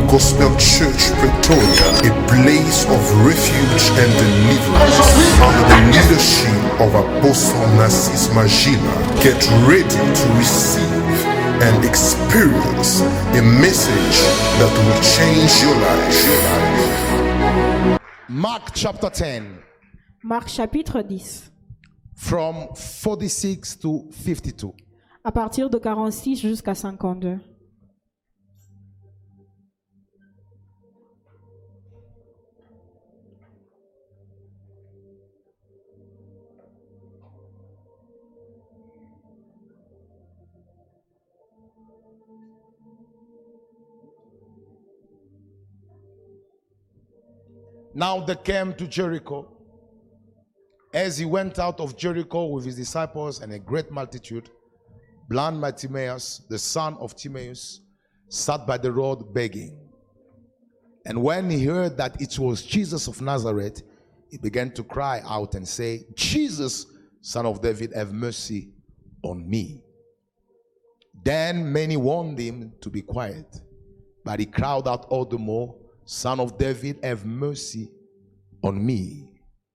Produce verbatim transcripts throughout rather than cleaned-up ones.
Gospel Church Pretoria, a place of refuge and deliverance under the leadership of Apostle Narcisse Magila. Get ready to receive and experience a message that will change your life. Mark chapter ten, Marc chapitre dix, from forty-six to fifty-two. à partir de quarante-six jusqu'à cinquante-deux. Now they came to Jericho. As he went out of Jericho with his disciples and a great multitude, blind Bartimaeus, the son of Timaeus, sat by the road begging. And when he heard that it was Jesus of Nazareth, he began to cry out and say, Jesus, son of David, have mercy on me. Then many warned him to be quiet, but he cried out all the more, Son of David, have mercy on me.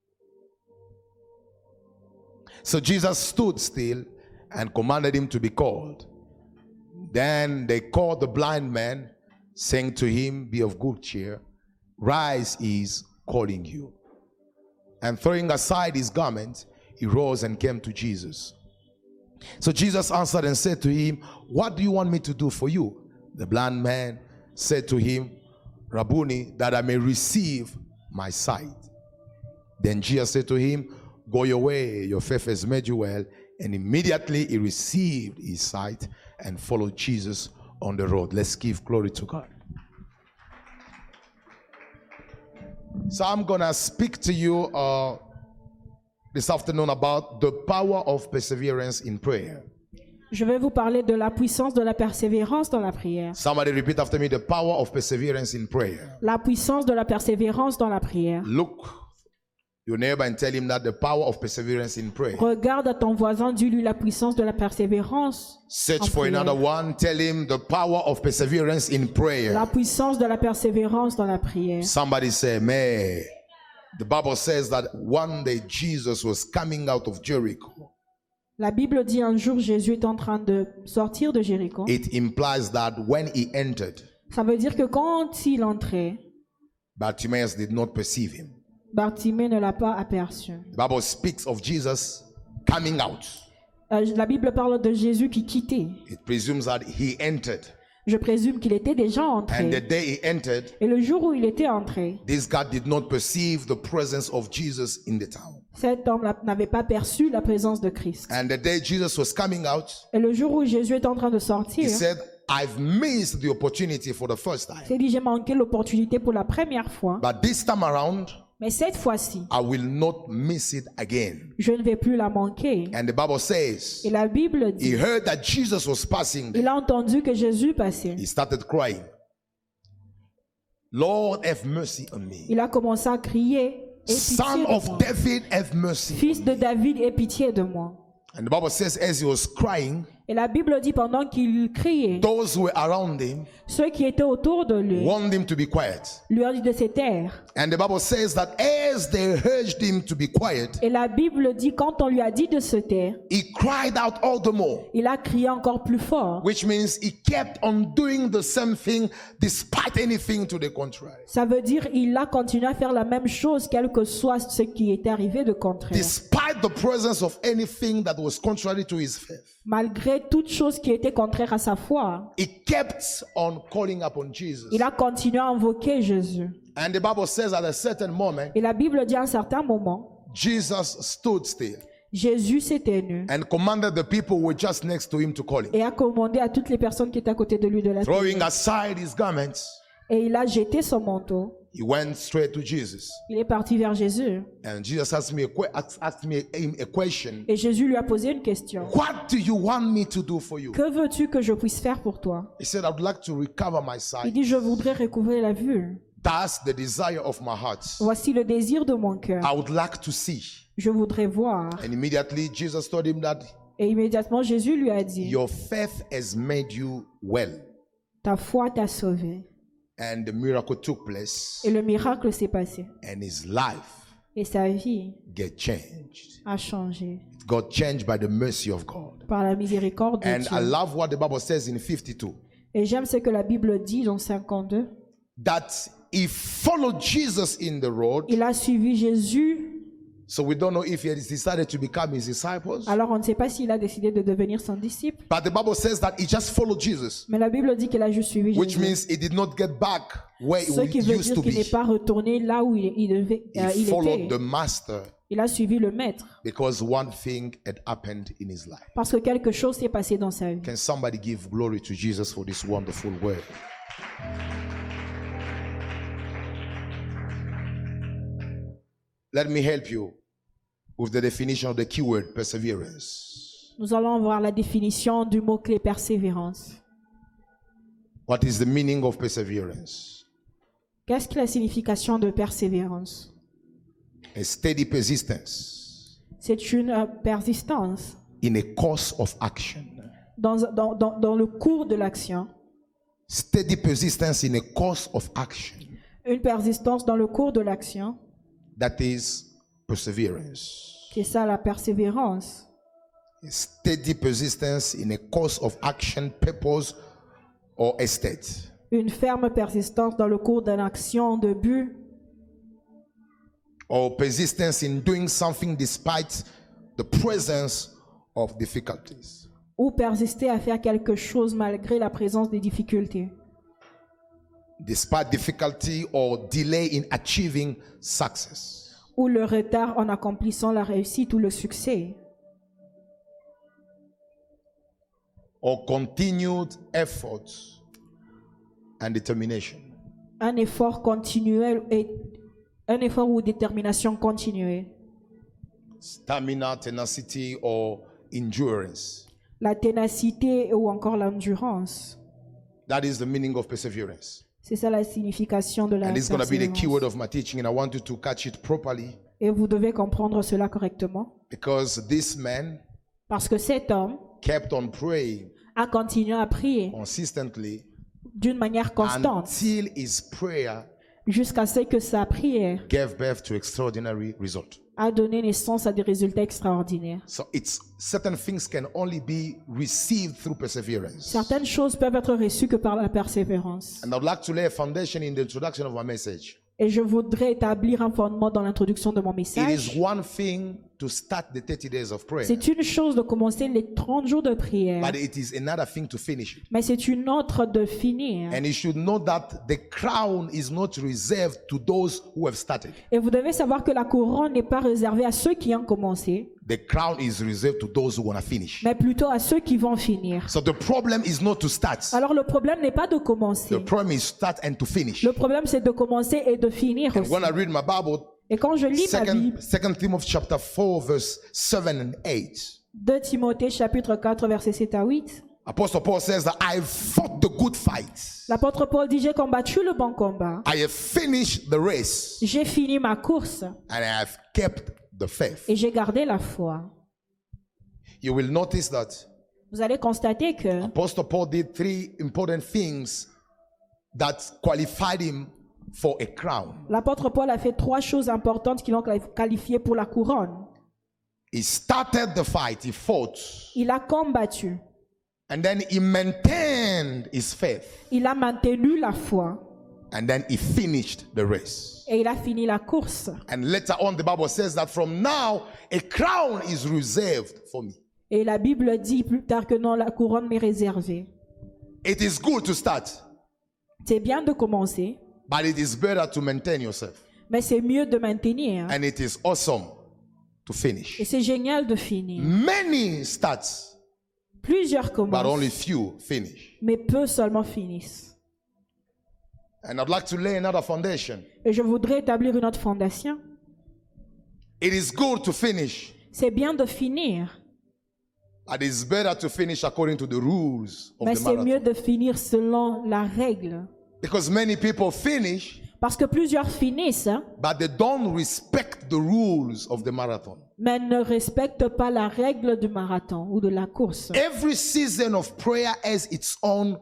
So Jesus stood still and commanded him to be called. Then they called the blind man, saying to him, be of good cheer, rise, he is calling you. And throwing aside his garment, he rose and came to Jesus. So Jesus answered and said to him, what do you want me to do for you? The blind man said to him, Rabboni, that I may receive my sight. Then Jesus said to him, go your way, your faith has made you well. And immediately he received his sight and followed Jesus on the road. Let's give glory to God. So I'm going to speak to you uh, this afternoon about the power of perseverance in prayer. Je vais vous parler de la puissance de la persévérance dans la prière. Somebody repeat after me, the power of perseverance in prayer. La puissance de la persévérance dans la prière. Look your neighbor and tell him that the power of perseverance in prayer. Regarde à ton voisin, dis-lui la puissance de la persévérance. Search en for prière. another one, tell him the power of perseverance in prayer. La puissance de la persévérance dans la prière. Somebody say, man, the Bible says that one day Jesus was coming out of Jericho. La Bible dit un jour Jésus est en train de sortir de Jéricho. It implies that when he entered, Ça veut dire que quand il entrait, Bartimaeus did not perceive him. Bartimée ne l'a pas aperçu. The Bible speaks of Jesus coming out. Euh, la Bible parle de Jésus qui quittait. It presumes that he entered. Je présume qu'il était déjà And the entré. day he entered, Et le jour où il était entré, this guy did not perceive the presence of Jesus in the town. cet homme n'avait pas perçu la présence de Christ. And the day Jesus was coming out, Et le jour où Jésus est en train de he sortir, said, I've missed the opportunity for the first il s'est time. dit j'ai manqué l'opportunité pour la première fois, But this time around, mais cette fois-ci, I will not miss it again. je ne vais plus la manquer. And the Bible says, Et la Bible he dit, heard that Jesus was passing il there. a entendu que Jésus passait. He started crying. Lord, have mercy on me. Il a commencé à crier, aie Son pitié de of moi. David, have mercy. Fils de David, aie pitié de moi. And the Bible says, as he was crying, Et la Bible dit pendant qu'il criait, those who were around him ceux qui étaient autour de lui warned him to be quiet. lui ont dit de se taire. And the Bible says that as they urged him to be quiet, Et la Bible dit quand on lui a dit de se taire, he cried out all the more, il a crié encore plus fort. which means he kept on doing the same thing despite anything to the contrary. Ça veut dire il a continué à faire la même chose quel que soit ce qui était arrivé de contraire. Despite the presence of anything that was contrary to his faith, Malgré toute chose qui était contraire à sa foi, he kept on calling upon Jesus. il a continué à invoquer Jésus. And the Bible says at a certain moment, Et la Bible dit à un certain moment, Jesus stood still Jésus s'est tenu and commanded the people who were just next to him to call him. et a commandé à toutes les personnes qui étaient à côté de lui de la Throwing tenir. aside his garments, Et il a jeté son manteau. he went straight to Jesus. Il est parti vers Jésus. And Jesus asked me a, que- asked asked me a, a question. Et Jésus lui a posé une question. What do you want me to do for you? Que veux-tu que je puisse faire pour toi? He said, I would like to recover my Il sight. dit, je voudrais recouvrer la vue. That's the desire of my heart. Voici le désir de mon cœur. I would like to see. Je voudrais voir. And immediately Jesus told him that Et immédiatement, Jésus lui a dit, your faith has made you well. ta foi t'a sauvé. And the miracle took place. Et le miracle s'est passé. And his life Et sa vie get changed. a changé It got changed by the mercy of God. par la miséricorde de And I Dieu. love what the Bible says in fifty-two. Et j'aime ce que la Bible dit dans cinquante-deux. That he followed Jesus in the road. Il a suivi Jésus. So we don't know if he has decided to become his disciples. Alors on ne sait pas s'il a décidé de devenir son disciple. But the Bible says that he just followed Jesus. Mais la Bible dit qu'il a juste suivi Which Jésus. means he did not get back where Ce qui he veut used dire to qu'il n'est be. pas retourné là où il, il devait, euh, He il followed était. the master Il a suivi le maître. because one thing had happened in his life. Parce que quelque chose s'est passé dans sa vie. Can somebody give glory to Jesus for this wonderful word? Let me help you with the definition of the keyword perseverance. Nous allons voir la définition du mot-clé persévérance. What is the meaning of perseverance? Qu'est-ce que la signification de persévérance? A steady persistence C'est une euh, persistance in a course of action. dans, dans, dans, dans le cours de l'action. Steady persistence in a course of action. Une persistance dans le cours de l'action. That is perseverance. C'est ça la persévérance. A steady persistence in a course of action, purpose, or a state. Une ferme persistance dans le cours d'une action de but. Or persistence in doing something despite the presence of difficulties. Ou persister à faire quelque chose malgré la présence des difficultés. Despite difficulty or delay in achieving success. Ou le retard en accomplissant la réussite ou le succès. Or continued effort and determination. Un effort continuel et un effort ou détermination continuée. Stamina, tenacity, or endurance. La ténacité ou encore l'endurance. That is the meaning of perseverance. C'est ça la signification de la And this is going to be the keyword persévérance. of my teaching, and I want you to catch it properly Et vous devez comprendre cela correctement. because this man Parce que cet homme kept on praying a continué à prier consistently d'une manière constante until his prayer jusqu'à ce que sa prière gave birth to extraordinary result. a donné naissance à des résultats extraordinaires. So it's certain things can only be received through perseverance. Certaines choses peuvent être reçues que par la persévérance. And I'd like to lay a foundation in the introduction of my message. Et je voudrais établir un fondement dans l'introduction de mon It message. is one thing to start the thirty days of prayer, C'est une chose de commencer les trente jours de prière, but it is another thing to finish it. mais c'est une autre de finir. And you should know that the crown is not reserved to those who have started. Et vous devez savoir que la couronne n'est pas réservée à ceux qui ont commencé, The crown is reserved to those who want to finish. mais plutôt à ceux qui vont finir. So the problem is not to start. Alors le problème n'est pas de commencer. The problem is start and to finish. Le problème c'est de commencer et de finir And aussi. when I read my Bible, Et quand je lis ma second, Bible, second Timothy chapter four, verse seven and eight, deux Timothée chapitre quatre versets sept à huit, Apostle Paul says that I have fought the good fight. l'apôtre Paul dit: j'ai combattu le bon combat, I have finished the race j'ai fini ma course and I have kept the faith. et j'ai gardé la foi. You will notice that Vous allez constater que Apostle Paul did three important things that qualified him for a crown. l'apôtre Paul a fait trois choses importantes qui l'ont qualifié pour la couronne. He started the fight, he fought, Il a combattu, and then he maintained his faith, il a maintenu la foi and then he finished the race. et il a fini la course. And later on, the Bible says that from now, a crown is reserved for me. Et la Bible dit plus tard que non, la couronne m'est réservée. It is good to start, C'est bien de commencer, but it is better to maintain yourself. mais c'est mieux de maintenir. And it is awesome to Et finish. c'est génial de finir. Many start, Plusieurs but only commencent, few finish. mais peu seulement finissent. And I'd like to lay another foundation. Et je voudrais établir une autre fondation. It is good to finish, C'est bien de finir, but it's better to finish according to the rules of mais the c'est mieux marathon. de finir selon la règle. Because many people finish, Parce que plusieurs finissent, hein, but they don't respect the rules of the marathon. mais ne respectent pas la règle du marathon ou de la course. Every season of prayer has its own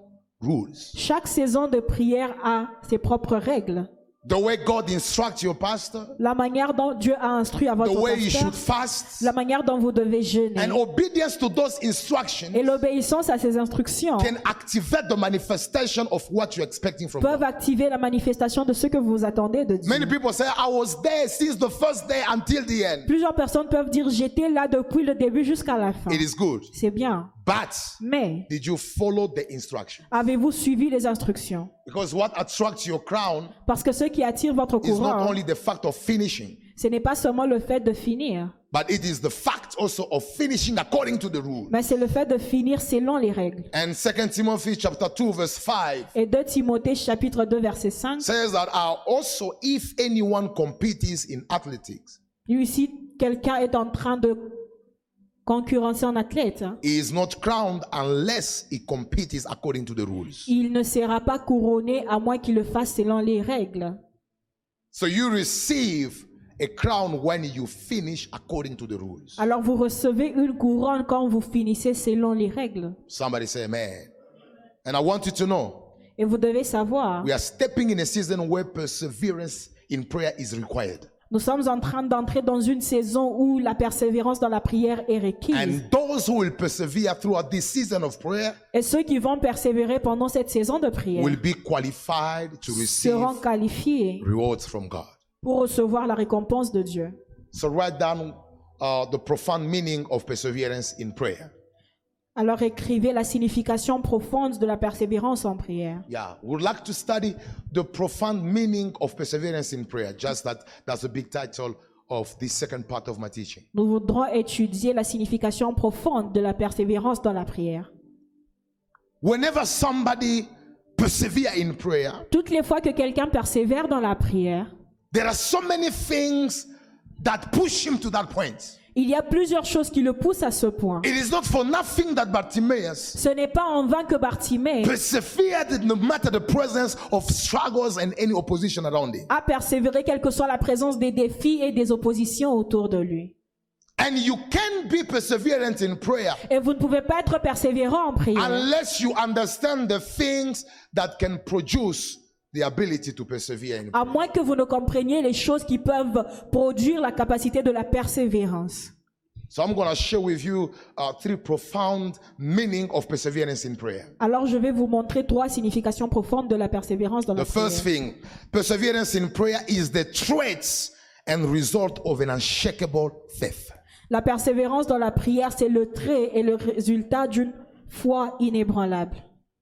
rules. Chaque saison de prière a ses propres règles. The way God instructs your pastor, La manière dont Dieu a instruit à the votre way you pasteur, should fast, la manière dont vous devez jeûner. and obedience to those instructions Et l'obéissance à ces instructions can activate the manifestation of what you're expecting from peuvent God. activer la manifestation de ce que vous attendez de Dieu. Many people say, I was there since the first day until the end. Plusieurs personnes peuvent dire j'étais là depuis le début jusqu'à la fin. It is good. C'est bien. But Mais did you follow the instruction? avez-vous suivi les instructions? Because what attracts your crown Parce que ce qui attire votre is not couronne, only the fact of finishing, ce n'est pas seulement le fait de finir, but it is the fact also of finishing according to the rule. mais c'est le fait de finir selon les règles. And Second Timothy chapter two verse five Et deux Timothée chapitre deux verset cinq, says that uh, also if anyone competes in athletics, lui ici, quelqu'un est en train de concurrencer un athlète, hein, he is not crowned unless he competes according to the rules. il ne sera pas couronné à moins qu'il le fasse selon les règles. So you receive a crown when you finish according to the rules. Alors vous recevez une couronne quand vous finissez selon les règles. Somebody say amen. And I want you to know, Et vous devez savoir, we are stepping in a season where perseverance in prayer is required. nous sommes en train d'entrer dans une saison où la persévérance dans la prière est requise. And those who will persevere throughout this season of prayer Et ceux qui vont persévérer pendant cette saison de prière will be qualified to receive seront qualifiés rewards from God. pour recevoir la récompense de Dieu. So write down uh, the profound meaning of perseverance in prayer. Alors écrivez la signification profonde de la persévérance en prière. Yeah, we'd like to study the profound meaning of perseverance in prayer. Just that, that's the big title of this second part of my teaching. Nous voudrons étudier la signification profonde de la persévérance dans la prière. Whenever somebody persevere in prayer, Toutes les fois que quelqu'un persévère dans la prière, there are so many things that push him to that point. il y a plusieurs choses qui le poussent à ce point. It is not for nothing that Bartimaeus Ce n'est pas en vain que Bartimée persevered no matter the presence of struggles and any opposition around him. a persévéré quelle que soit la présence des défis et des oppositions autour de lui. And you can be perseverant in prayer Et vous ne pouvez pas être persévérant en prière unless you understand the things that can produce the ability to persevere in prayer. à moins que vous ne compreniez les choses qui peuvent produire la capacité de la persévérance. So I'm going to share with you uh, three profound meaning of perseverance in prayer. Alors je vais vous montrer trois significations profondes de la persévérance dans la The first prière. thing, perseverance in prayer is the traits and result of an unshakable faith. La persévérance dans la prière, c'est le trait et le résultat d'une foi inébranlable.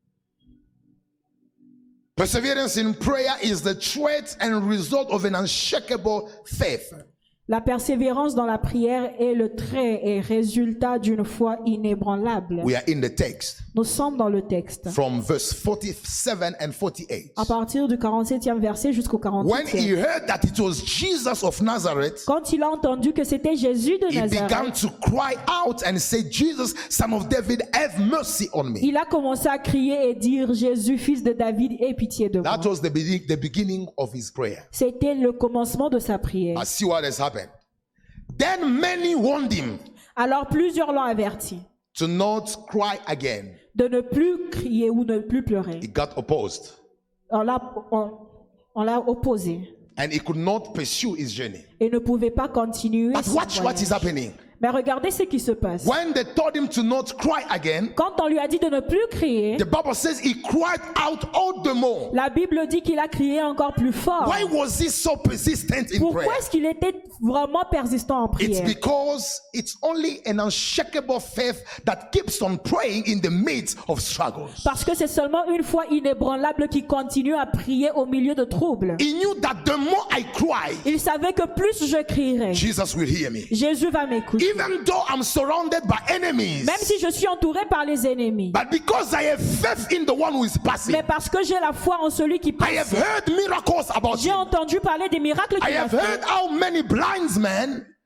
Perseverance in prayer is the trait and result of an unshakable faith. La persévérance dans la prière est le trait et résultat d'une foi inébranlable. We are in the text Nous sommes dans le texte. from verse forty-seven and forty-eight. À partir du quarante-septième verset jusqu'au When he quarante-huitième. heard that it was Jesus of Nazareth, Quand il a entendu que c'était Jésus de he began Nazareth, to cry out and say, Jesus, son of David, have mercy on me. il a commencé à crier et dire Jésus, fils de David, aie pitié de moi. That was the, be- the beginning of his prayer. C'était le commencement de sa prière. I see what has happened. Then many warned him Alors plusieurs l'ont averti to not cry again. de ne plus crier ou ne plus pleurer. He got opposed On l'a, on, on l'a opposé and he could not pursue his journey. et ne pouvait pas continuer But son watch what is voyage. happening. Mais regardez ce qui se passe. When they told him to not cry again, Quand on lui a dit de ne plus crier, the Bible says he cried out all the more. la Bible dit qu'il a crié encore plus fort. Why was he so persistent in Pourquoi prayer? est-ce qu'il était vraiment persistant en It's prière? because it's only an unshakable faith that keeps on praying in the midst of struggles. Parce que c'est seulement une foi inébranlable qui continue à prier au milieu de troubles. He knew that the more I cry, Il savait que plus je crierais, Jesus will hear me. Jésus va m'écouter. Even though I'm surrounded by enemies, Même si je suis entouré par les ennemis. but because I have faith in the one who is passing, Mais parce que j'ai la foi en celui qui I have passe. heard miracles about J'ai him. entendu parler des miracles I qu'il a have fait. heard how many blind men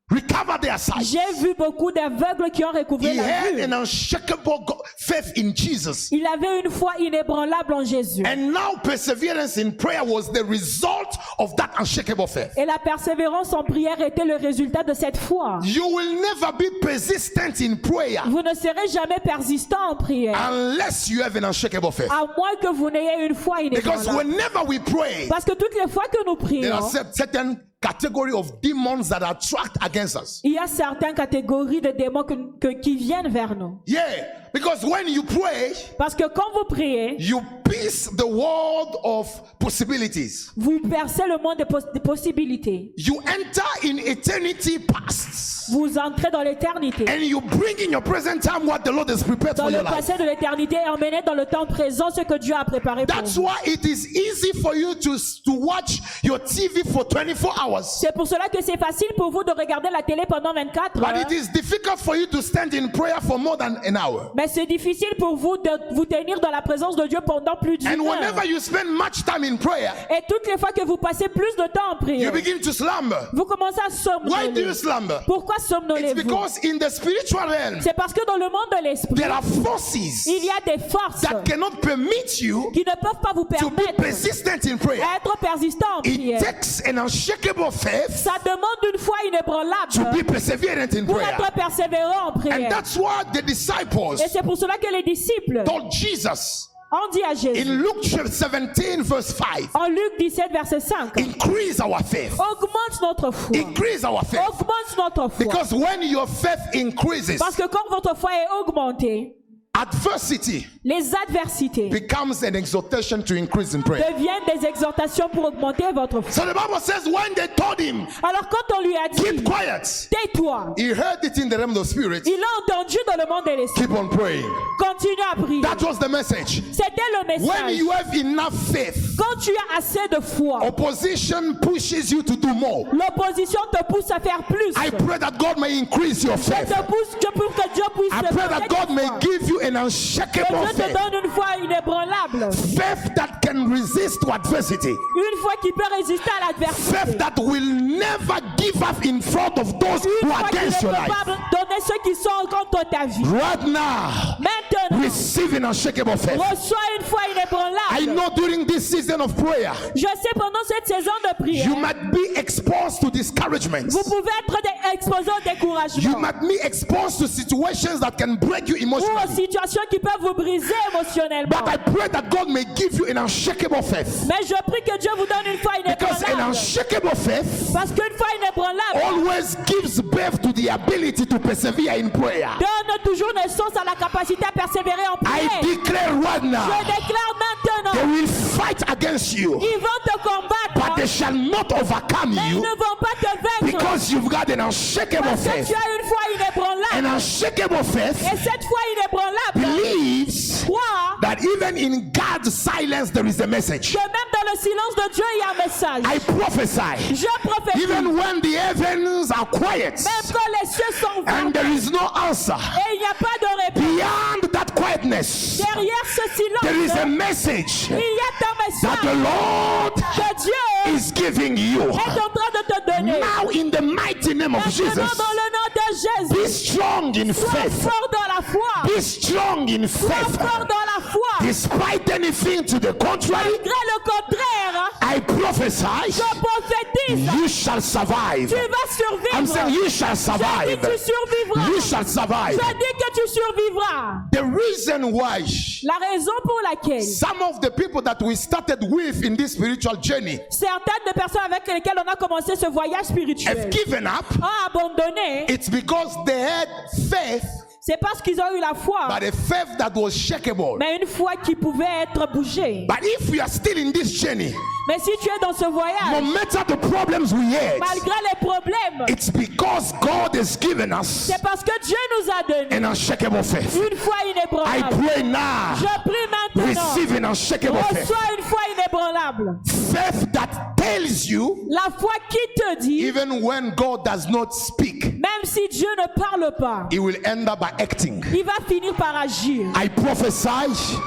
recover their sight. J'ai vu beaucoup d'aveugles qui ont recouvré He la had vue. an unshakable go- faith in Jesus. Il avait une foi inébranlable en Jésus. And now perseverance in prayer was the result of that unshakable faith. Et la persévérance en prière était le résultat de cette foi. You will never be persistent in prayer Vous ne serez jamais persistant en prière, unless you have an unshakable faith. à moins que vous n'ayez une foi Because inébranlable. whenever we pray, Parce que toutes les fois que nous there are prions, cer- certain category of demons that are tracked against us. il y a certaines catégories de démons que- que- qui viennent vers nous. Yeah, because when you pray, Parce que quand vous priez, you pierce the world of possibilities. vous percez le monde des, pos- des possibilités. You enter in eternity past. Vous entrez dans l'éternité. And you bring in your present time what the Lord has prepared Dans for le your life. passé de l'éternité et emmenez dans le temps présent ce que Dieu a préparé pour That's vous. why it is easy for you to, to watch your T V for twenty-four hours. C'est pour cela que c'est facile pour vous de regarder la télé pendant vingt-quatre But heures. it is difficult for you to stand in prayer for more than an hour. Mais c'est difficile pour vous de vous tenir dans la présence de Dieu pendant plus d'une And heure. whenever you spend much time in prayer, Et toutes les fois que vous passez plus de temps en you prière, begin to slumber. vous commencez à Why do you somnoler. slumber? Pourquoi It's somnolez-vous? because in the spiritual realm, C'est parce que dans le monde de l'esprit, there are forces il y a des forces that cannot permit you qui ne peuvent pas vous to be permettre persistent in prayer. d'être persistant en It prière. takes an unshakable faith Ça demande une foi to inébranlable be perseverant in pour prayer. être persévérant en And prière. that's why the disciples Et c'est pour cela que les disciples told Jesus ont dit à Jésus, in Luke chapter seventeen verse five, en Luc dix-sept, verset cinq, increase our faith. augmente notre foi. Increase our faith. Augmente notre foi. Because when your faith increases, Parce que quand votre foi est augmentée, adversity les adversités becomes an exhortation to increase in prayer. deviennent des exhortations pour augmenter votre foi. So the Bible says when they told him, Alors quand on lui a dit, keep quiet, tais-toi, he heard it in the realm of the spirit. il a entendu dans le monde de l'esprit. Keep on praying. Continue à prier. That was the message. C'était le When message. you have enough faith, Quand tu as assez de foi, opposition pushes you to do more. l'opposition te pousse à faire plus. I pray that God may increase your Je faith. te pousse que pour que Dieu puisse I te pray donner that God ta may foi. give you an Que unshakable Dieu te faith. donne une foi inébranlable. Faith that can resist to adversity. Une foi qui peut résister à l'adversité. Faith that will never give up in front of those Une who are foi qui ne against peut your life. pas donner ceux qui sont contre ta vie. Right now, Maintenant, receive an unshakable faith. reçois une foi I inébranlable. know during this season of prayer, Je sais pendant cette saison de prière, you might be exposed to discouragement. vous pouvez être dé- exposé au You découragement might be exposed to situations that can break you ou aux emotionally. situations qui peuvent vous briser émotionnellement. But I pray that God may give you an unshakable faith. Mais je prie que Dieu vous donne une foi Because an inébranlable. unshakable faith Parce qu'une foi inébranlable always gives birth to the ability to persevere in prayer. donne toujours naissance à la capacité à persévérer en I prière. declare right Je now, déclare they maintenant, will fight against you, ils vont te but combattre, they shall not overcome mais ils you ne vont pas te vaincre. because you've got an unshakable Parce que faith. tu as une foi An inébranlable. unshakable faith Et cette foi inébranlable believes croit that even in God's silence there is a message. que même dans le silence de Dieu, il y a un message. I prophesy, Je prophétise, even même when the heavens are quiet quand les cieux sont and vides there is no answer, et il n'y a pas de réponse, beyond that quietness, derrière ce there is a silence, message il y a un that the message Lord que Dieu is giving you. est en train de te donner. Now, in the mighty name of Maintenant, Jesus, dans le nom de be Jésus, strong in sois faith. fort dans la foi. Be strong in Sois faith. fort dans la foi. Despite anything to the contrary, Malgré le contraire, I prophesy je prophétise, you shall survive. tu vas I'm survivre. saying you shall Je dis survive. tu survivras. You shall survive. Je dis que tu survivras. The reason why La raison pour laquelle some of the people that we started with in this spiritual journey certaines des personnes avec lesquelles on a commencé ce voyage spirituel have given up, ont abandonné, it's because they had faith, c'est parce qu'ils ont eu la foi, but a faith that was shakeable. mais une foi qui pouvait être bougée. But if we are still in this journey, Mais si tu es dans ce no voyage, matter the problems we had, malgré les problèmes, it's because God has given us c'est parce que Dieu nous a donné an unshakable faith. une foi I inébranlable. pray now, Je prie maintenant, receive an unshakable faith. reçois une foi inébranlable. Faith that tells you, La foi qui te dit, even when God does not speak, même si Dieu ne parle pas, He will end up by acting. il va finir par agir. I prophesy,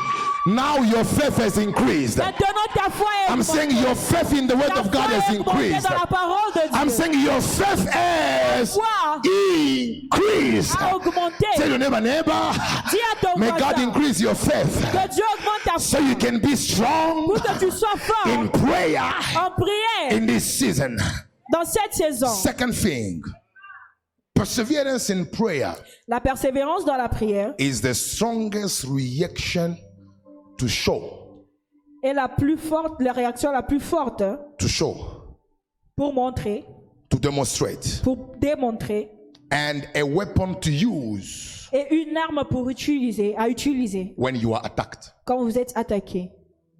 Now your faith has increased. Maintenant ta foi est I'm saying your faith in the word Ta of God foi has est augmentée increased. dans la parole de Dieu. I'm saying your faith has Foi increased. a augmenté. Tell your neighbor, neighbor, Dis à ton may God voisin increase your faith que Dieu augmente ta so foi you can be strong pour que tu sois fort in prayer en prière in this season. dans cette saison. Second thing, perseverance in prayer La persévérance dans la prière is the strongest reaction to show. est la plus forte, la réaction la plus forte To show. pour montrer, To demonstrate. pour démontrer, And a weapon to use et une arme pour utiliser, à utiliser when you are attacked. quand vous êtes attaqué.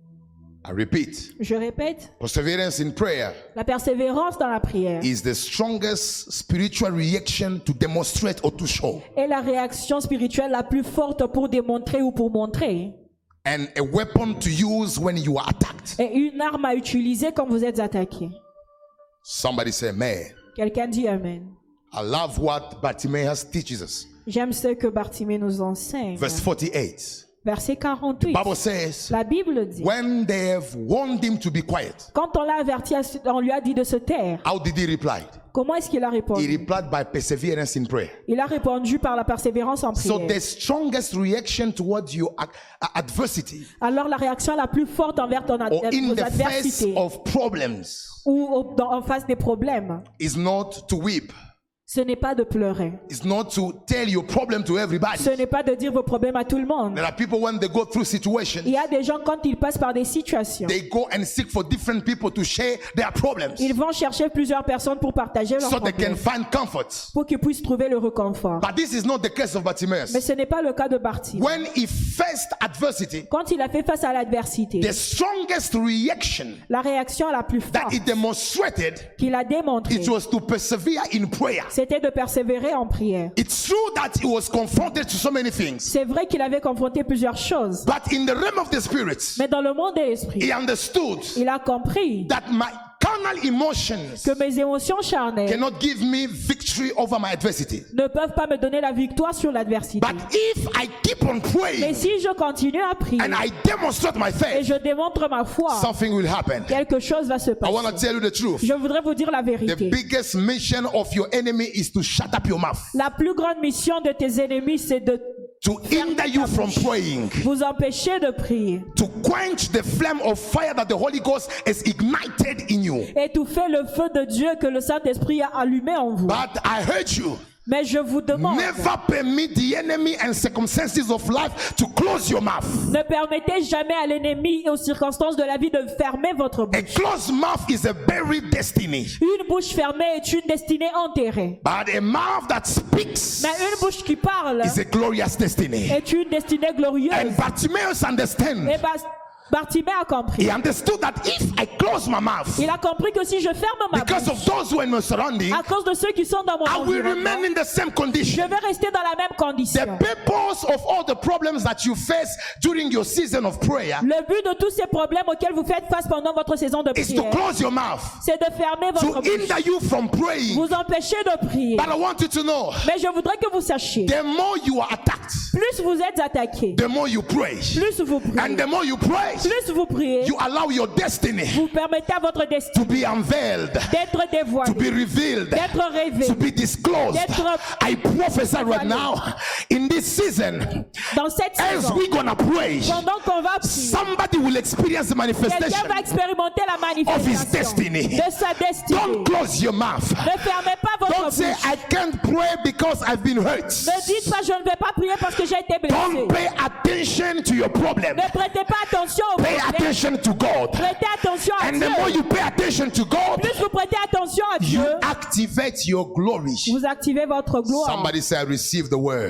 I repeat, Je répète, perseverance in prayer la persévérance dans la prière is the strongest spiritual reaction to demonstrate or to show. est la réaction spirituelle la plus forte pour démontrer ou pour montrer, And a weapon to use when you are attacked. et une arme à utiliser quand vous êtes attaqué. Somebody say, man, Quelqu'un dit Amen. I love what Bartimaeus teaches us. J'aime ce que Bartimée nous enseigne. Verse forty-eight. Verset quarante-huit. Bible says, La Bible dit, when they have warned him to be quiet, quand on l'a averti, on lui a dit de se taire. how did he reply? Comment est-ce qu'il a He répondu? replied by perseverance in prayer. Il a répondu par la persévérance en So prière. the strongest reaction towards your ac- adversity Alors la réaction la plus forte envers ton ad- or in vos the face adversités of problems ou au- dans- en face des problèmes, is not to weep. ce n'est pas de pleurer. It's not to tell your problem to everybody. Ce n'est pas de dire vos problèmes à tout le monde. There are people when they go through situations, Il y a des gens quand ils passent par des situations, they go and seek for different people to share their problems ils vont chercher plusieurs personnes pour partager leurs so they can problèmes, find comfort. pour qu'ils puissent trouver le réconfort. But this is not the case of Mais Bartimaeus. ce n'est pas le cas de Bartimée. When he faced adversity, Quand il a fait face à l'adversité, the strongest reaction la réaction la plus that forte he demonstrated, qu'il a démontrée, it was to persevere in prayer. c'était de persévérer en prière. It's true that he was confronted to so many things, C'est vrai qu'il avait confronté plusieurs choses, but in the realm of the spirit, mais dans le monde de l'esprit, he understood il a compris that my carnal emotions que mes émotions charnelles cannot give me victory over my adversity. ne peuvent pas me donner la victoire sur l'adversité. But if I keep on Mais praying si je continue à prier and I demonstrate my et faith, je démontre ma foi, something will happen. quelque chose va se I want to passer. tell you the truth. Je voudrais vous dire la The vérité. biggest mission of your enemy is to shut up your mouth, La plus grande mission de tes ennemis, c'est de to hinder you from praying, vous empêcher de prier, to quench the flame of fire that the Holy Ghost has ignited in you. étouffer le feu de Dieu que le Saint-Esprit a allumé en vous. But I heard you. Mais je vous demande, Never permit the enemy and circumstances of life to close your mouth. ne permettez jamais à l'ennemi et aux circonstances de la vie de fermer votre A bouche. closed mouth is a buried destiny, Une bouche fermée est une destinée enterrée. but a mouth that speaks Mais une bouche qui parle is a glorious destiny. est une destinée glorieuse. And Bartimaeus understand. Et Bas- Bartimée a compris. He understood that if I close my mouth, Il a compris que si je ferme ma because bouche, of those who are in my surrounding, à cause de ceux qui sont dans mon I will environnement, remain in the same je condition. vais rester dans la même The condition. purpose of all the problems that you face during your season of prayer Le but de tous ces problèmes auxquels vous faites face pendant votre saison de is to prière, close your mouth, c'est de fermer to votre bouche, hinder you from praying. vous empêcher de prier. But I want you to know, Mais je voudrais que vous sachiez, the more you are attacked, plus vous êtes attaqué, the more you pray. plus vous And priez, the more you pray, plus vous priez, you allow your destiny vous permettez à votre to destin be unveiled, d'être to be dévoilé, revealed, d'être révélé. to be disclosed. D'être- I prophesy right now, in this season, Dans cette as saison, we're gonna pray, pendant qu'on va prier, somebody will experience the quelqu'un manifestation va expérimenter la of his manifestation destiny. de sa destinée. Don't close your mouth. Ne fermez pas votre Don't bouche. say, I can't pray because I've been hurt. Ne dites pas je ne vais pas prier parce que j'ai été blessé. Don't pay attention to your problem. Ne prêtez pas attention au Pay problème. attention to God. Prêtez attention à And Dieu. the more you pay attention to God, Plus vous prêtez attention à you Dieu, activate your glory. vous activez votre gloire. Somebody say, I receive the word.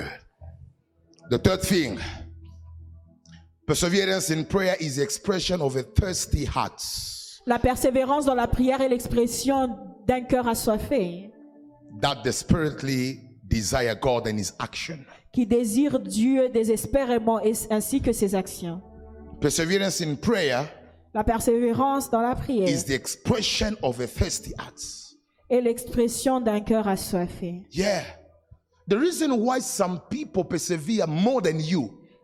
The third thing, perseverance in prayer is the expression of a thirsty heart La persévérance dans la prière est l'expression d'un cœur assoiffé that desperately desire God and his action. qui désire Dieu désespérément et- ainsi que ses actions. Perseverance in prayer La persévérance dans la prière is the expression of a thirsty heart. est l'expression d'un cœur assoiffé. Yeah. The reason why some people persevere more than you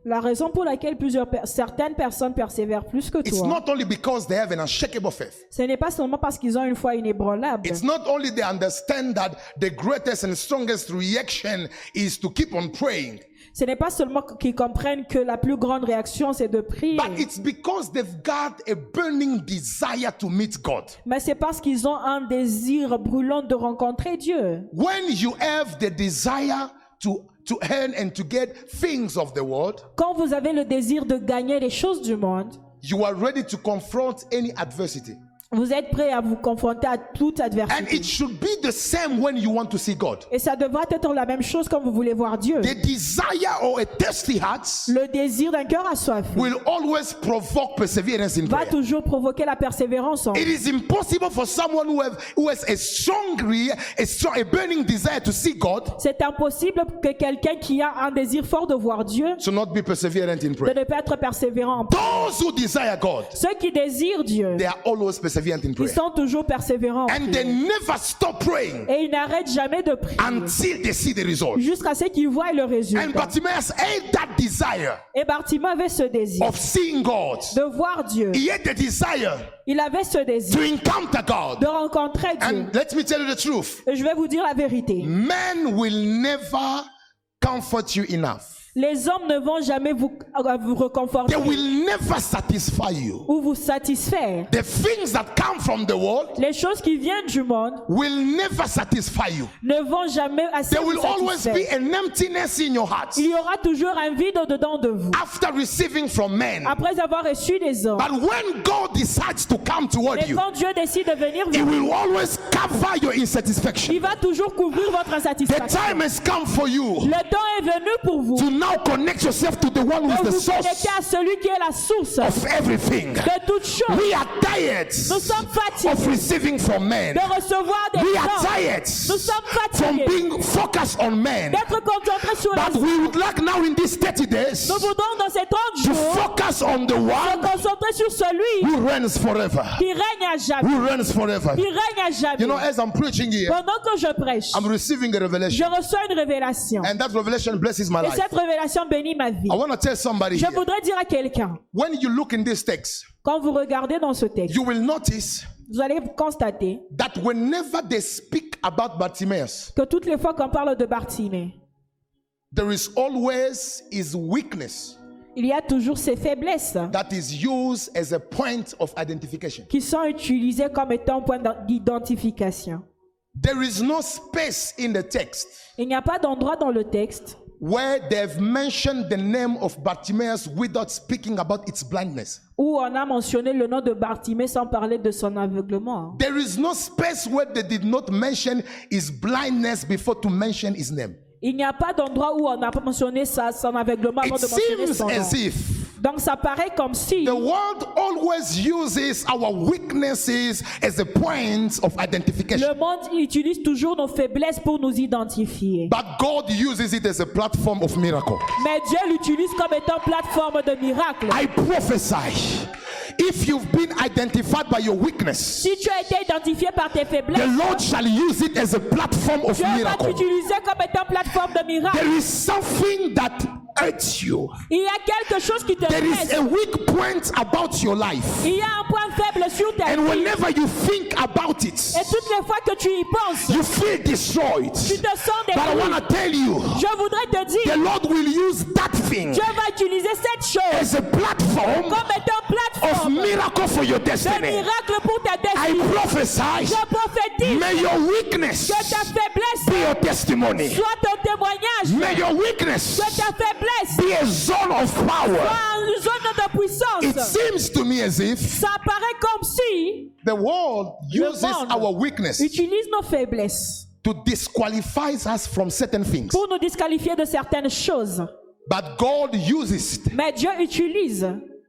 La raison pour laquelle plusieurs per- certaines personnes persévèrent plus que It's toi, not only because they have an unshakable faith. ce n'est pas seulement parce qu'ils ont une foi inébranlable. It's not only they understand that the greatest and strongest reaction is to keep on praying, Ce n'est pas seulement qu'ils comprennent que la plus grande réaction, c'est de prier. but it's because they've got a burning desire to meet God. Mais c'est parce qu'ils ont un désir brûlant de rencontrer Dieu. When you have the desire to to earn and to get things of the world, Quand vous avez le désir de gagner les choses du monde, you are ready to confront any adversity. vous êtes prêt à vous confronter à toute And adversité. it should be the same when you want to see God. Et ça devrait être la même chose quand vous voulez voir Dieu. The desire or a thirsty heart Le désir d'un cœur assoiffé will always provoke perseverance in va prayer. toujours provoquer la persévérance en It is impossible for someone who, have, who has a strong, re- a strong, a burning desire to see God C'est impossible que quelqu'un qui a un désir fort de voir Dieu to not be perseverant in de prayer. ne pas être persévérant en prière. Those who desire God, Ceux qui désirent Dieu, they are always perseverant in ils prayer. sont toujours persévérants en And they prière. never stop praying Et ils n'arrêtent jamais de prier until they see the result. jusqu'à ce qu'ils voient le And résultat. Bartimaeus had that desire Et Bartimée avait ce désir of seeing God. de voir Dieu. He had the desire Il avait ce désir to encounter God. de rencontrer Dieu. And let me tell you the truth. Et je vais vous dire la vérité. Men will never comfort you enough. Les hommes ne vont jamais vous, euh, vous réconforter They will never satisfy you. ou vous satisfaire. The things that come from the world Les choses qui viennent du monde will never satisfy you. ne vont jamais assez There vous will always be satisfaire. an emptiness in your heart Il y aura toujours un vide au-dedans de vous. after receiving from men. Après avoir reçu des hommes. But when God decides to come toward Mais you, quand Dieu décide de venir He vous, will always cover your insatisfaction. il va toujours couvrir votre The insatisfaction. time has come for you Le temps est venu pour vous to now connect yourself to the one who de is the vous source connecter à celui qui est la source of everything. de toutes choses. We are tired Nous sommes of fatigués receiving from men. de recevoir des We are gens, tired Nous sommes from fatigués being focused on men. d'être concentrés sur But les we would like now in these thirty days Nous voudrons dans ces trente to jours focus on the se one concentrer sur celui who reigns forever. qui règne à jamais. Who reigns forever. Qui règne à jamais. You know, as I'm preaching here, Pendant que je prêche, I'm receiving a je revelation. reçois une révélation. And that revelation blesses my Et life. cette révélation bénit ma vie. I want to tell somebody Je here, voudrais dire à quelqu'un, when you look in this text, quand vous regardez dans ce texte, you will notice vous allez constater that whenever they speak about Bartimaeus, que toutes les fois qu'on parle de Bartimée, there is always his weakness il y a toujours ces faiblesses that is used as a point of identification. qui sont utilisées comme étant un point d'identification. There is no space in the text Il n'y a pas d'endroit dans le texte where they've mentioned the name of Bartimaeus without speaking about its blindness. où on a mentionné le nom de Bartimée sans parler de son aveuglement. There is no space where they did not mention his blindness before to mention his name. Il n'y a pas d'endroit où on n'a pas mentionné sa, son aveuglement avant It de mentionner seems son nom. as if Donc ça paraît comme si the world always uses our weaknesses as a point of identification. le monde utilise toujours nos faiblesses pour nous identifier. But God uses it as a platform of miracle. Mais Dieu l'utilise comme étant plateforme de miracle. I prophesy, if you've been identified by your weakness, Si tu as été identifié par tes the faiblesses, Lord shall use it as a platform of Dieu va miracle. t'utiliser comme étant plateforme de miracle. There is something that hurts you. Il y a quelque chose qui te There is blesse. a weak point about your life. Il y a un point faible sur ta And vie. whenever you think about it, Et toutes les fois que tu y penses, you feel destroyed. tu te sens But I détruit. want to tell you, Je voudrais te the dire, Lord will use that thing Dieu va utiliser cette chose as a platform comme étant of plateforme miracle for your de destiny. miracle pour ta I destinée. prophesy, Je prophétise may your weakness que ta faiblesse be your testimony. soit ton témoignage, May your weakness que ta faiblesse be a zone of power. soit une zone de It puissance. seems to me as if Ça paraît comme si the world Le uses monde our weakness utilise nos faiblesses to disqualify us from certain things. pour nous disqualifier de certaines choses. But God uses it Mais Dieu utilise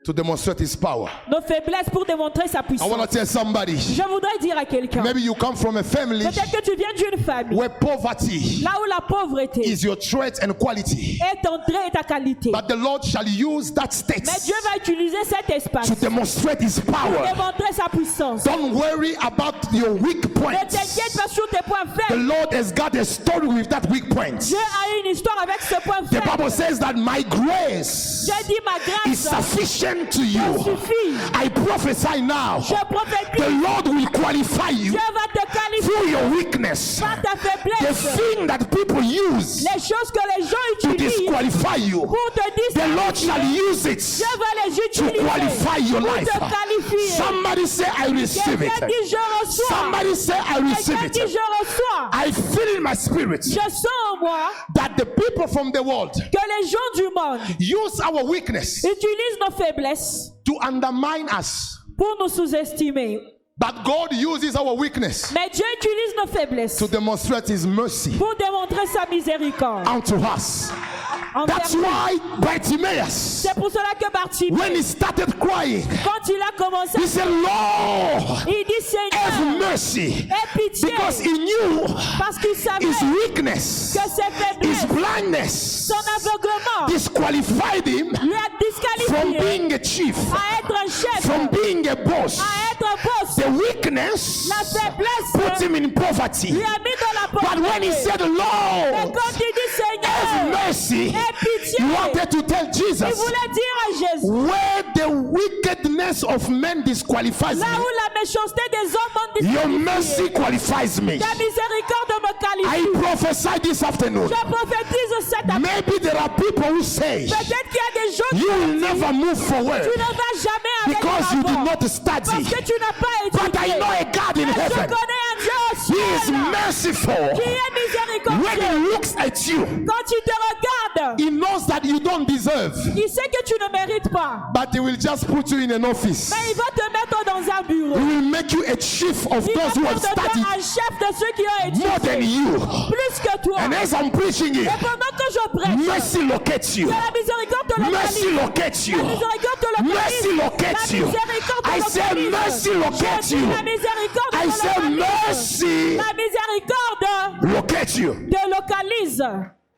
to demonstrate his power. nos faiblesses pour démontrer sa I puissance. want to tell somebody, Je voudrais dire à quelqu'un, maybe you come from a family peut-être que tu viens d'une famille, where poverty là où la pauvreté is your trait and quality. est ton trait et ta qualité. But the Lord shall use that state Mais Dieu va utiliser cet espace to pour demonstrate his power. démontrer sa puissance. Don't worry about your weak Ne points. t'inquiète pas sur tes points The faibles. Lord has got a story with that weak point. Dieu a une histoire avec ce point The Bible faible. says that my grace J'ai dit ma is grâce sufficient to me you. suffit. I prophesy now. Je The prophétise. Lord will qualify you Dieu va te qualifier through your weakness. par ta The faiblesse. thing that people use Les choses que les gens to utilisent disqualify you, pour te the Lord shall disqualifier, use it Dieu va les to utiliser qualify your pour life. te qualifier. Somebody say, I receive Quelqu'un it. dit je reçois. Somebody say, I receive Quelqu'un dit it. je reçois. I feel in my spirit Je sens en moi that the people from the world que les gens du monde use our weakness utilisent nos faiblesses to undermine us. pour nous sous-estimer. But God uses our weakness Mais Dieu utilise nos faiblesses to demonstrate his mercy pour démontrer sa miséricorde unto us. envers That's nous. why Bartimaeus, C'est pour cela que Bartimée, when he started crying, quand il a commencé, he said, Lord, il dit have Seigneur, mercy. aie pitié, Because he knew parce qu'il savait his weakness, que ses his faiblesses, blindness, son aveuglement, disqualified him lui a from disqualifié being a chief, à être un chef, from being a boss. à être un boss. The weakness La faiblesse put him in poverty. lui a mis dans la But when he pauvreté. said, Mais Lord, quand il dit have Seigneur, mercy, aie pitié, he wanted to tell il Jesus, voulait dire à Jésus, where the wickedness of men disqualifies là où me, la méchanceté des hommes m'ont your disqualifié, mercy qualifies me. ta miséricorde me I qualifie. prophesy this afternoon. Je prophétise cet après. Maybe there are people who say Peut-être qu'il y a des gens qui you will disent, never move forward tu ne vas jamais avec because you did l'avant, not parce study. que tu n'as pas But I étudié. know a God in Mais je heaven. connais un Dieu au He is ciel merciful. qui est When miséricordieux. he looks at you, Quand il te regarde, he knows that you don't deserve. il sait que tu ne mérites pas. But he will just put you in an office. Mais il va te mettre dans un bureau. He will make you a chief of Il va those who have faire de toi studied un chef de ceux qui ont more than étudié. you. Plus que toi. And as I'm preaching Et it, pendant que je prêche, mercy locates you. que la miséricorde te Mercy localise. locates you. La miséricorde te localise. Mercy locates La you. miséricorde te I say localise. mercy locates Je dis, you. la miséricorde I te say localise. mercy La miséricorde locates you. te localise.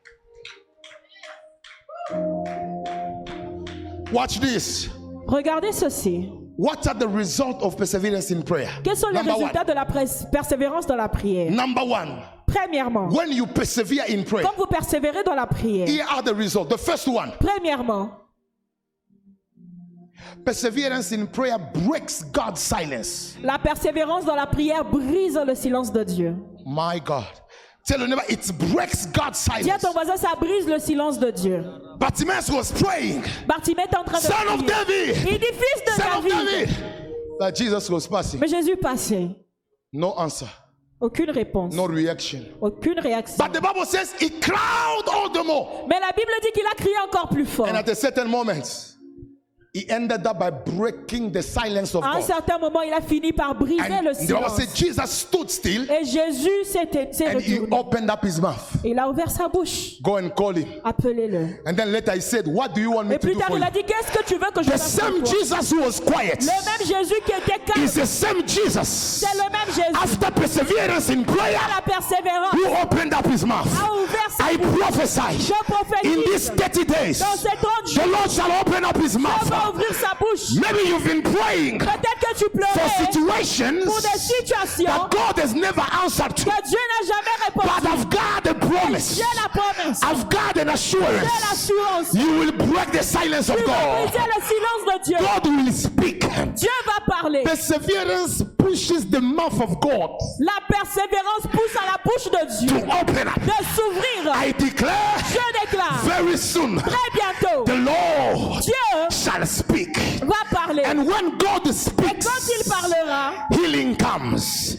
Watch this. Regardez ceci. What are the results of perseverance in prayer? Quels sont les Number résultats one. de la pres- persévérance dans la prière? Number one. Premièrement, When you persevere in prayer, quand vous persévérez dans la prière, here are the results. The first one. premièrement, Perseverance in prayer breaks God's silence. la persévérance dans la prière brise le silence de Dieu. My God. Tell your neighbor, it breaks God's Dis à silence. ton voisin, ça brise le silence de Dieu. Bartimaeus was praying, Bartimée est en train de Son of prier. David, Il dit fils de Son of David. David. But Jesus was passing. Mais Jésus passait. No answer, Aucune réponse. no reaction. Aucune réaction. But the Bible says he cried all the more. Mais la Bible dit qu'il a crié encore plus fort. And at a certain moment, he ended up by breaking the silence of À un God. certain moment, il a fini par briser And le the Bible silence. says Jesus stood still Et Jésus s'est s'est and he retourné. opened up his mouth. Il a ouvert sa bouche. Go and call him. Appelez-le. And then later he said, what do you want me Et to plus do tard, for il you? a dit, qu'est-ce que tu veux que je The fasse pour same toi? Jesus who was quiet Le même Jésus qui était calme. is the same Jesus C'est le même Jésus. after perseverance in prayer La persévérance who opened up his mouth. a ouvert sa I bouche. prophesy Je in these prophétise. thirty days Dans ces trente the jours, Lord shall open up his il va mouth. ouvrir sa bouche. Maybe you've been praying Peut-être que tu for pleurais situations pour des situations that God has never answered to. que Dieu n'a jamais But répondu. I've got a promise. J'ai la promesse. I've got an J'ai assurance. l'assurance. You will break the silence of Tu vas God. briser le silence de Dieu. God will speak. Dieu va parler. Perseverance pushes the mouth of God La persévérance pousse à la bouche de to Dieu open up. de s'ouvrir. I declare Je déclare very soon très bientôt, the Lord Dieu shall speak. va parler. And when God Et speaks, quand il parlera, healing comes,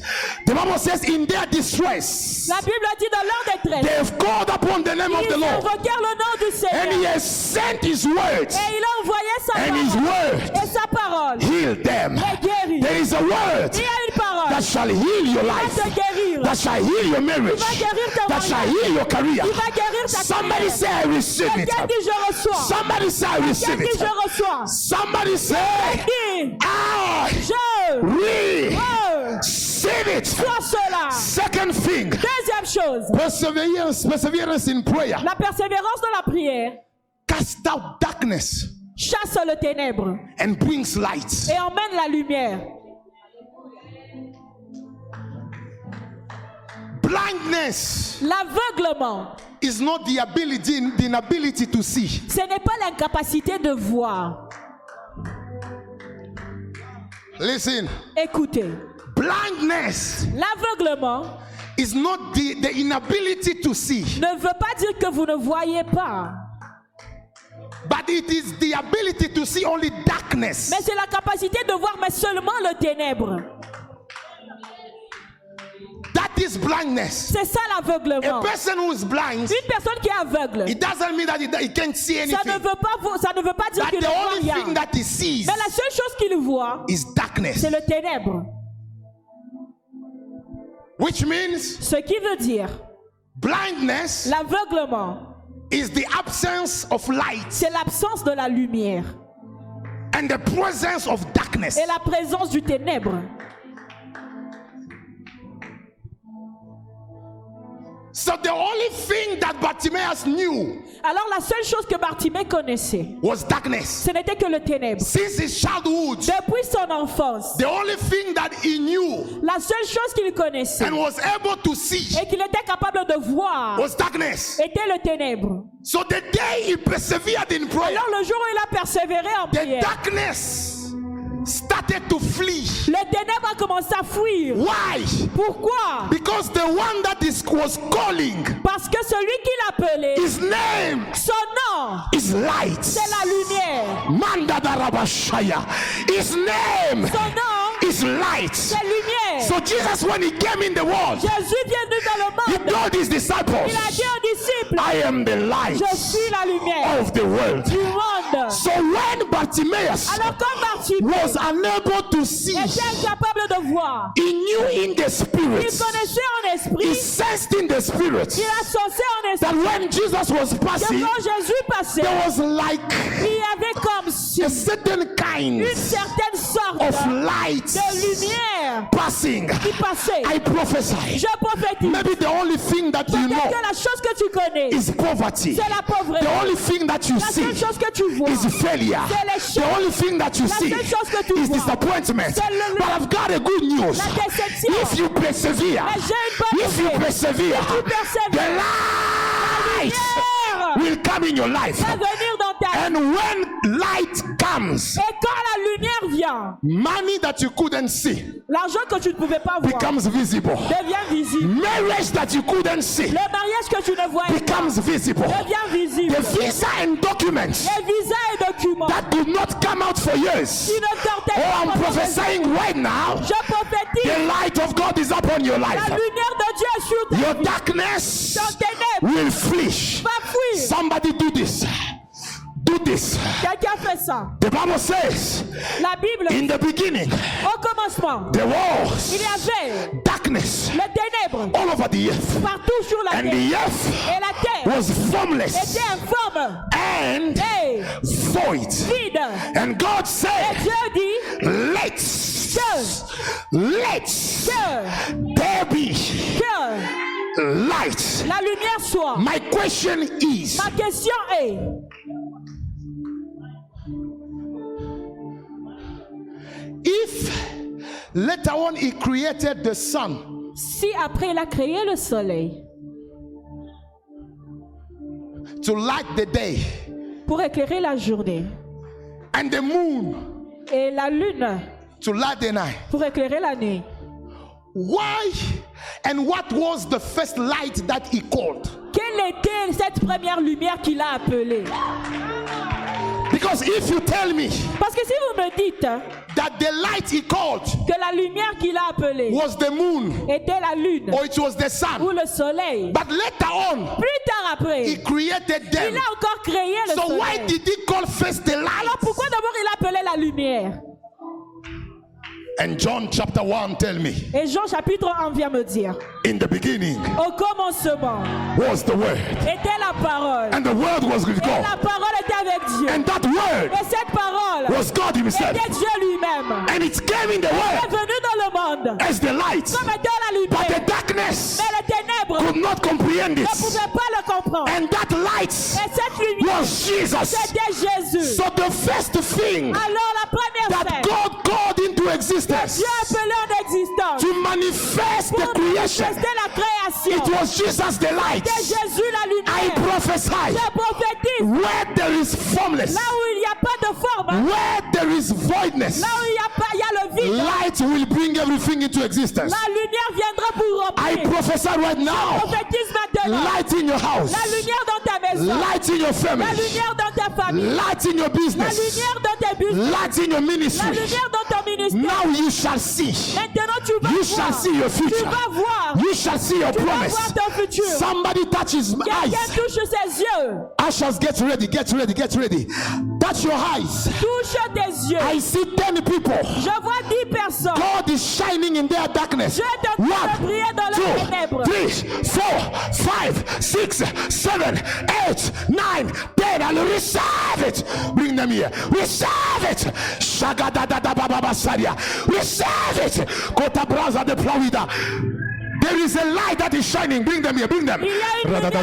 The Bible says, in their distress, La Bible dit dans leur they détresse, have called upon the name of the ils Lord, invoquèrent le nom du and Seigneur. He has sent His words, Et il a envoyé sa and His parole. word Et sa parole healed them. les guérit. There is a word Il y a une parole that shall heal your qui va life, te guérir. that shall heal your marriage, Il va guérir ta that shall mariage. heal your career. Il va guérir ta Somebody carrière. say, I receive it. Quelqu'un dit je reçois. Somebody say, I receive Quelqu'un dit it. je reçois. Somebody say, Dis I je receive it. reçois cela. Second thing, Deuxième chose, perseverance, perseverance in prayer. la persévérance dans la prière Cast out darkness chasse le ténèbre and brings light. et emmène la lumière. Blindness L'aveuglement, is not the ability, the inability to see. ce n'est pas l'incapacité de voir. Listen, Écoutez, blindness l'aveuglement is not the, the inability to see, ne veut pas dire que vous ne voyez pas, but it is the ability to see only darkness. mais c'est la capacité de voir, mais seulement le ténèbre. That is blindness. C'est ça A l'aveuglement. person who is blind, Une personne qui est aveugle, it doesn't mean that he, that he can't see ça anything. ne veut pas, vo- ça ne veut pas dire But qu'il ne the voit only rien. thing that he sees Mais la seule chose qu'il voit, is darkness, c'est le ténèbre. which means Ce qui veut dire, blindness l'aveuglement, is the absence of light c'est l'absence de la lumière and the presence of darkness. et la présence du ténèbre. So the only thing that Bartimaeus knew Alors la seule chose que Bartimée connaissait, was darkness. ce n'était que le ténèbre. Since his childhood, Depuis son enfance, the only thing that he knew la seule chose qu'il connaissait and was able to see et qu'il était capable de voir was darkness. était le ténèbre. So the day he persevered in prayer, Alors le jour où il a persévéré en the prière, darkness started to flee. le ténèbre a commencé à fuir. Why? Pourquoi? Because the one that is was calling, Parce que celui qui l'appelait, his name son nom, is light. c'est la lumière. Manda darabashaya. His name Son nom, is light. c'est lumière. So Jesus, when he came in the world, Jésus vient venu dans le he monde. told his disciples, Il a dit aux disciples, I am the light je suis la lumière of the world. du monde. So when Bartimaeus Alors comme Bartimée was unable to see, était incapable de voir, he knew in the il spirit, connaissait en he esprit, sensed in the spirit il a sensé en that esprit when Jesus was que passing, quand Jésus passait, there was like il y avait comme si a certain kind une certaine sorte of light de lumière passing. qui passait. I prophesy. Je prophétise. Maybe the only thing that you Peut-être know que la chose que tu connais, is poverty. c'est la pauvreté. The only thing that you La see seule chose que tu vois, is failure. c'est l'échec. The only thing that you La see seule chose que tu is vois, disappointment. c'est le- But I've got a good news. la déception. If you persevere, Mais j'ai une bonne if you nouvelle. persevere, Si tu persévères, the light lumière will come in your life. va venir dans ta vie. And when light comes, Et quand la lumière vient, money that you couldn't see l'argent que tu ne pouvais pas voir becomes visible. devient visible. Marriage that you couldn't see Le mariage que tu ne voyais pas becomes visible. devient visible. The visa and documents Les visas et documents that did not come out for years. qui ne sortaient Oh, pas I'm pendant des prophesying right now. Je prophétise, The light of God is upon your la life. lumière de Dieu est sur ta Your vie. darkness Ton ténèbre will flee. va fuir. Somebody do this. Do this. Quelqu'un fait ça. The Bible says, La Bible, in the beginning, au commencement, there il was y avait darkness le ténèbre all over the earth. partout sur la And terre. the earth Et la terre was formless était informe and et void. vide. And God Et said, Dieu dit let's, que, let's que, there be que light. la lumière soit. My question is, Ma question est, if later on he created the sun si après il a créé le soleil to light the day pour éclairer la journée and the moon et la lune to light the night, pour éclairer la nuit, why and what was the first light that he called? quelle était cette première lumière qu'il a appelée? Because if you tell me Parce que si vous me dites that the light he called que la lumière qu'il a appelée was the moon était la lune or it was the ou sun. le soleil. But later on, Plus tard après, he created il them. a encore créé le So soleil. why did he call first the light? Alors pourquoi d'abord il appelait la lumière? And John chapter one tell me, Et Jean chapitre un vient me dire, in the beginning au commencement was the word, était la parole. and the word was with Et God, la parole était avec Dieu. and that word Et cette parole was God himself, était Dieu lui-même. and it came in the Il est world venu dans le monde as the light, comme étant la but the lumière. darkness Mais les ténèbres could not comprehend ne it, pouvaient pas le comprendre. and that light Et cette lumière, was Jesus. c'était Jésus. So the first thing Alors la première that scène, God called into existence Dieu appelé en existence to manifest the pour creation, manifester la création. it was Jesus the light. C'est Jésus la I lumière. prophesy, Je prophétise where there is formless, là où il n'y a pas de forme, where there is voidness, là où il y a pas, il y a le vide. light will bring everything into existence. La lumière viendra pour I remplir. prophesy right now, Prophétise maintenant. light in your house, La lumière dans ta maison. light in your La family, lumière dans ta famille. light in your La business, lumière dans tes business. light in your La ministry. lumière dans ton ministère. Now you shall see. Maintenant tu vas You voir. shall see your Tu future. vas voir. You shall see your Tu vas promise. voir ton futur. Somebody touches my Quelqu'un eyes. touche ses yeux. Ushers, get ready, get ready, get ready. Touch your eyes. Touche tes yeux. I see ten people. Je vois dix personnes. God is shining in their darkness. Dieu est en train de briller dans One, leurs two, ténèbres. three, four, five, six, seven, eight, nine, ten. And receive it. Bring them here. Receive it. Shagadadadababasaria. Receive it. Kota braza de Florida. There is a light that is shining. Bring them here. Bring them. Il y a une lumière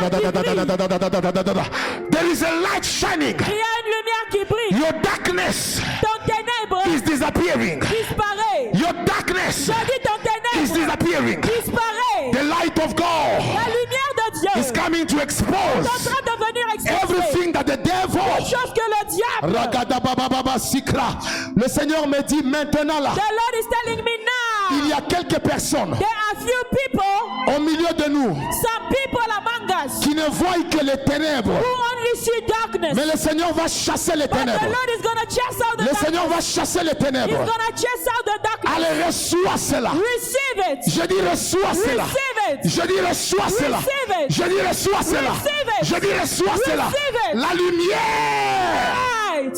qui brille. There is a light shining. Il y a une lumière qui brille. Your darkness Ton ténèbre is disappeering. disparaît. Your darkness Je dis ton is ténèbre disappearing. disparaît. The light of God La lumière de Dieu is coming to est en expose train de venir exposer everything that the devil. chose que le diable. Ragadabababa sikra. Le Seigneur me dit maintenant là, The Lord is telling me now. il y a quelques personnes There are few people, au milieu de nous some people among us qui ne voient que les ténèbres. who only see darkness. Mais le Seigneur va chasser les But the ténèbres. Lord is going to chase out the Le darkness. Seigneur va chasser les He's ténèbres. going to chase out the darkness. Allez, reçois cela. Receive it. Je dis reçois cela. Receive it. Je dis reçois cela. Receive it. Je dis reçois cela. Receive it. Je dis reçois cela. Receive it. La lumière. Right.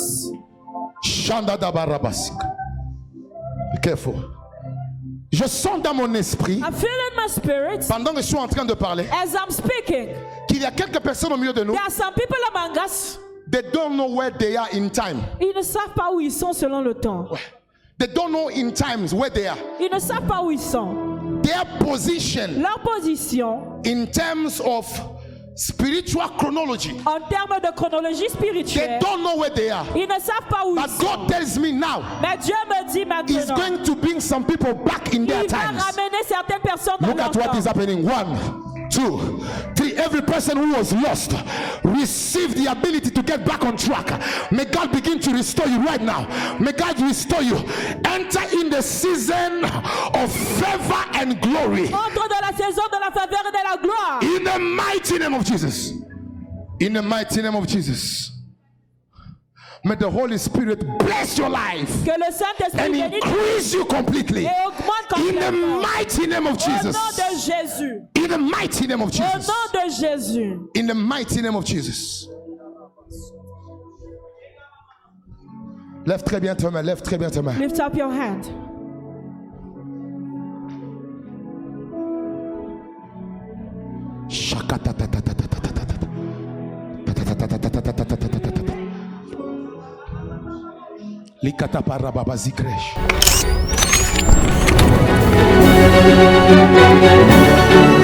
Shanda dabarabasik. Be careful. Je sens dans mon esprit, I feel in my spirit pendant que je suis en train de parler, as I'm speaking. qu'il y a quelques personnes au milieu de nous. There are some people among us. They don't know where they are in time. Ils ne savent pas où ils sont selon le temps. They don't know in times where they are. Ils ne savent pas où ils sont. Their position Leur position in terms of spiritual chronology. en termes de chronologie They spirituelle, don't know where they are. ils ne savent pas où ils But sont. God tells me now, Mais Dieu me dit He's maintenant, going to bring some people back in their il va times. ramener certaines personnes dans Look leur at what temps. is happening. One, two, three. Every person who was lost receive the ability to get back on track. May God begin to restore you right now. May God restore you. Enter in the season of favor and glory. Entre dans la saison de la faveur et de la gloire. In the mighty name of Jesus. In the mighty name of Jesus. May the Holy Spirit bless your life Que le Saint-Esprit and bénisse increase you completely. et augmente In the complètement. mighty name of Au Jesus. nom de Jésus. In the mighty name of Au Jesus. nom de Jésus. In the mighty name of Jesus. Lève très bien ta main, lève très bien ta main. Lift up your hand. Likata parababa zikresh.